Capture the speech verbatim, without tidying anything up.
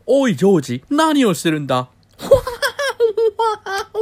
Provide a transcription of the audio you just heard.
おいジョージ、何をしてるんだ。